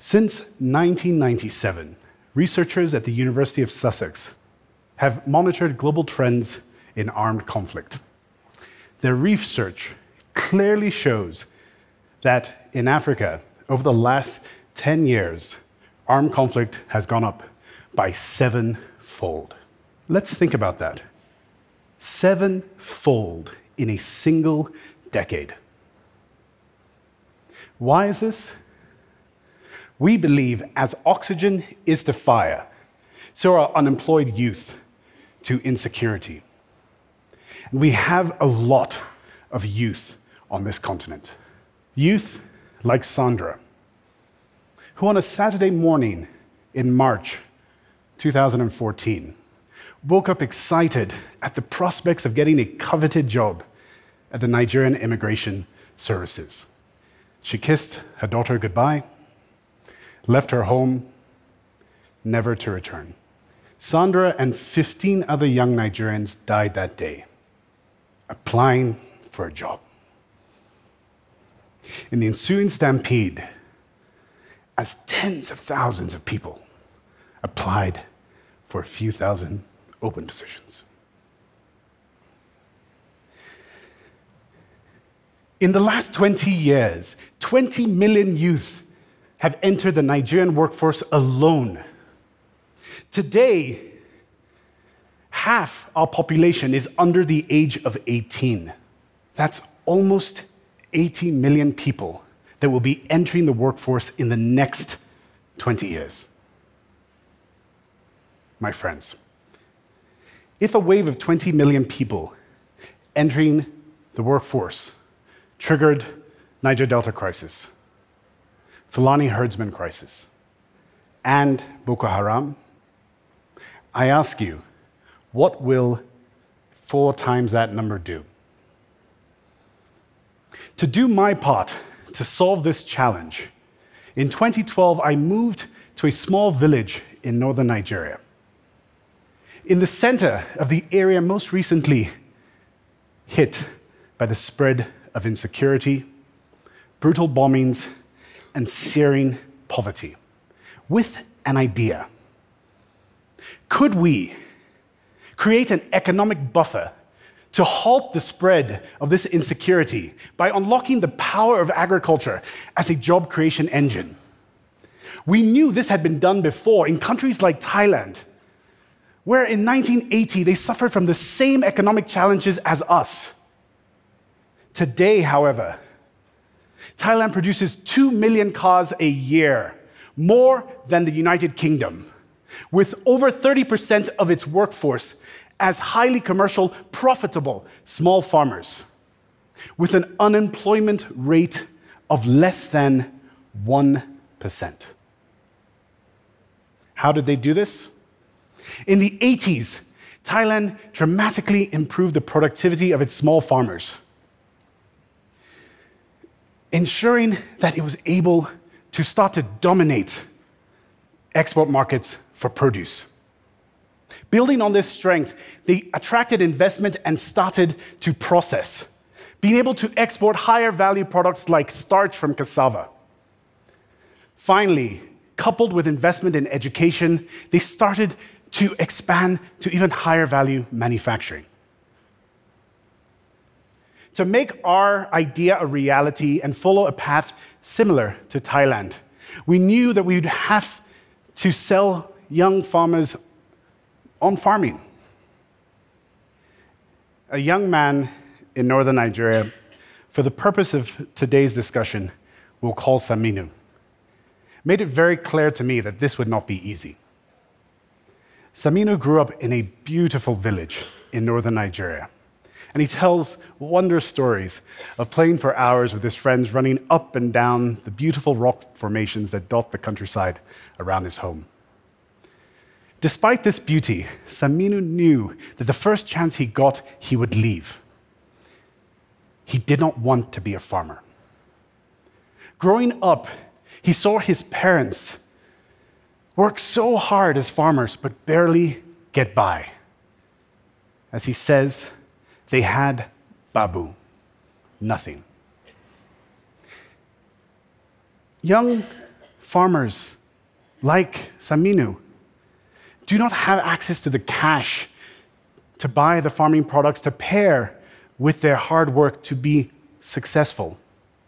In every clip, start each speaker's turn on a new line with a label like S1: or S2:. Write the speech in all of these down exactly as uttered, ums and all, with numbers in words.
S1: Since nineteen ninety-seven, researchers at the University of Sussex have monitored global trends in armed conflict. Their research clearly shows that in Africa, over the last ten years, armed conflict has gone up by sevenfold. Let's think about that. Sevenfold in a single decade. Why is this? We believe as oxygen is to fire, so are unemployed youth to insecurity. And we have a lot of youth on this continent. Youth like Sandra, who on a Saturday morning in March two thousand fourteen woke up excited at the prospects of getting a coveted job at the Nigerian Immigration Services. She kissed her daughter goodbye, left her home, never to return. Sandra and fifteen other young Nigerians died that day, applying for a job. In the ensuing stampede, as tens of thousands of people applied for a few thousand open positions. In the last twenty years, twenty million youth have entered the Nigerian workforce alone. Today, half our population is under the age of eighteen. That's almost eighty million people that will be entering the workforce in the next twenty years. My friends, if a wave of twenty million people entering the workforce triggered Niger Delta crisis, Fulani herdsman crisis, and Boko Haram, I ask you, what will four times that number do? To do my part to solve this challenge, in twenty twelve, I moved to a small village in northern Nigeria. In the center of the area most recently hit by the spread of insecurity, brutal bombings, and searing poverty, with an idea. Could we create an economic buffer to halt the spread of this insecurity by unlocking the power of agriculture as a job creation engine? We knew this had been done before in countries like Thailand, where in nineteen eighty they suffered from the same economic challenges as us. Today, however, Thailand produces two million cars a year, more than the United Kingdom, with over thirty percent of its workforce as highly commercial, profitable small farmers, with an unemployment rate of less than one percent. How did they do this? In the eighties, Thailand dramatically improved the productivity of its small farmers, ensuring that it was able to start to dominate export markets for produce. Building on this strength, they attracted investment and started to process, being able to export higher value products like starch from cassava. Finally, coupled with investment in education, they started to expand to even higher value manufacturing. To make our idea a reality and follow a path similar to Thailand, we knew that we would have to sell young farmers on farming. A young man in northern Nigeria, for the purpose of today's discussion, we'll call Saminu, made it very clear to me that this would not be easy. Saminu grew up in a beautiful village in northern Nigeria, and he tells wondrous stories of playing for hours with his friends, running up and down the beautiful rock formations that dot the countryside around his home. Despite this beauty, Saminu knew that the first chance he got, he would leave. He did not want to be a farmer. Growing up, he saw his parents work so hard as farmers, but barely get by. As he says, they had babu, nothing. Young farmers like Saminu do not have access to the cash to buy the farming products to pair with their hard work to be successful.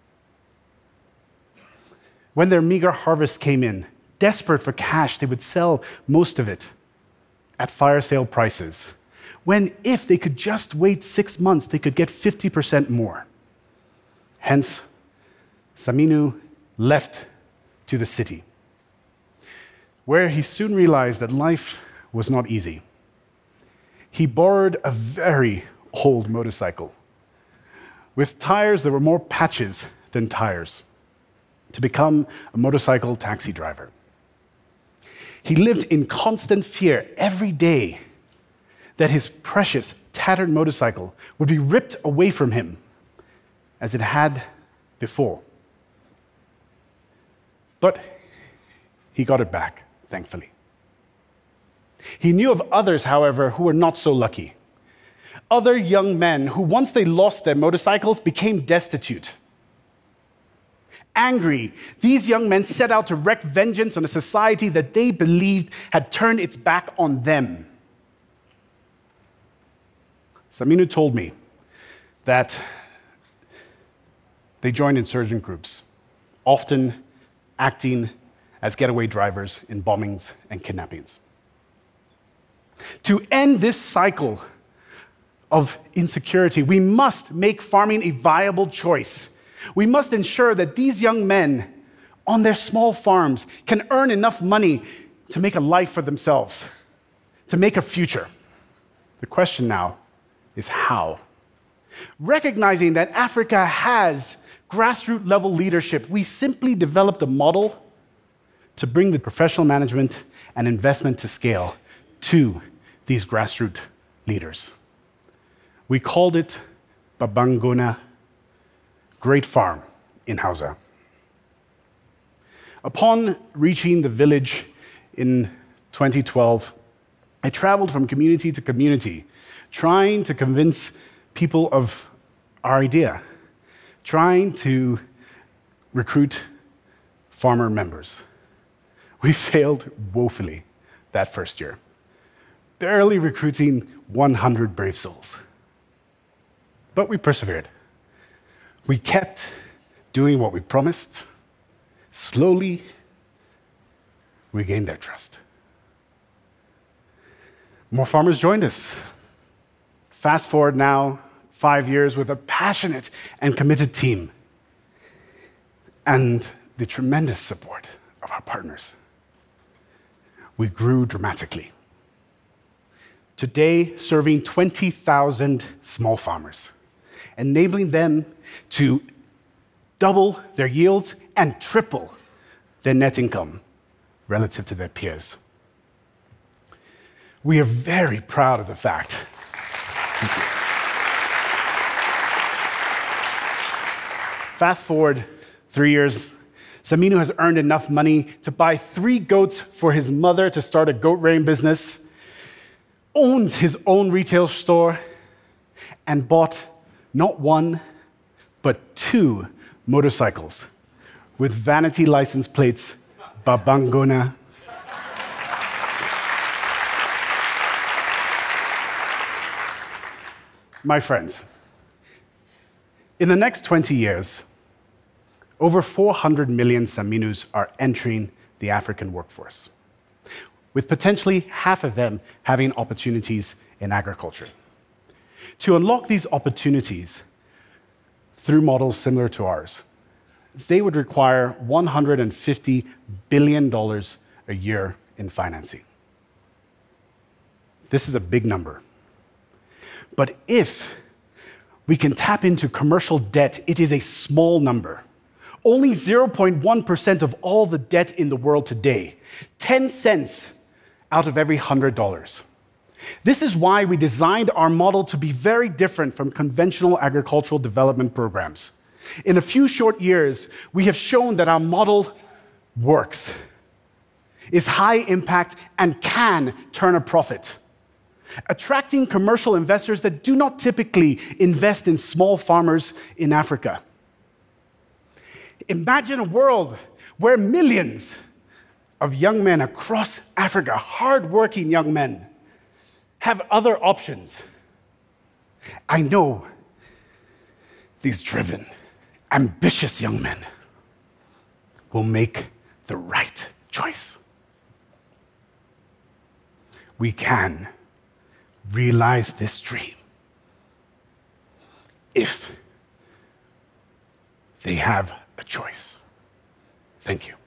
S1: When their meager harvest came in, desperate for cash, they would sell most of it at fire sale prices, when if they could just wait six months, they could get fifty percent more. Hence, Saminu left to the city, where he soon realized that life was not easy. He borrowed a very old motorcycle with tires that were more patches than tires to become a motorcycle taxi driver. He lived in constant fear every day that his precious, tattered motorcycle would be ripped away from him as it had before. But he got it back, thankfully. He knew of others, however, who were not so lucky. Other young men who, once they lost their motorcycles, became destitute. Angry, these young men set out to wreak vengeance on a society that they believed had turned its back on them. Saminu told me that they joined insurgent groups, often acting as getaway drivers in bombings and kidnappings. To end this cycle of insecurity, we must make farming a viable choice. We must ensure that these young men on their small farms can earn enough money to make a life for themselves, to make a future. The question now is how? Recognizing that Africa has grassroots level leadership, we simply developed a model to bring the professional management and investment to scale to these grassroots leaders. We called it Babangona Great Farm in Hausa. Upon reaching the village in twenty twelve, I traveled from community to community, trying to convince people of our idea, trying to recruit farmer members. We failed woefully that first year, barely recruiting one hundred brave souls. But we persevered. We kept doing what we promised. Slowly, we gained their trust. More farmers joined us. Fast forward now, five years with a passionate and committed team and the tremendous support of our partners. We grew dramatically. Today, serving twenty thousand small farmers, enabling them to double their yields and triple their net income relative to their peers. We are very proud of the fact. Thank you. Fast forward three years, Saminu has earned enough money to buy three goats for his mother to start a goat rearing business, owns his own retail store, and bought not one, but two motorcycles with vanity license plates, Babangona. My friends, in the next twenty years, over four hundred million Saminus are entering the African workforce, with potentially half of them having opportunities in agriculture. To unlock these opportunities through models similar to ours, they would require one hundred fifty billion dollars a year in financing. This is a big number. But if we can tap into commercial debt, it is a small number. Only zero point one percent of all the debt in the world today, ten cents out of every one hundred dollars. This is why we designed our model to be very different from conventional agricultural development programs. In a few short years, we have shown that our model works, is high impact, and can turn a profit, attracting commercial investors that do not typically invest in small farmers in Africa. Imagine a world where millions of young men across Africa, hardworking young men, have other options. I know these driven, ambitious young men will make the right choice. We can realize this dream if they have a choice. Thank you.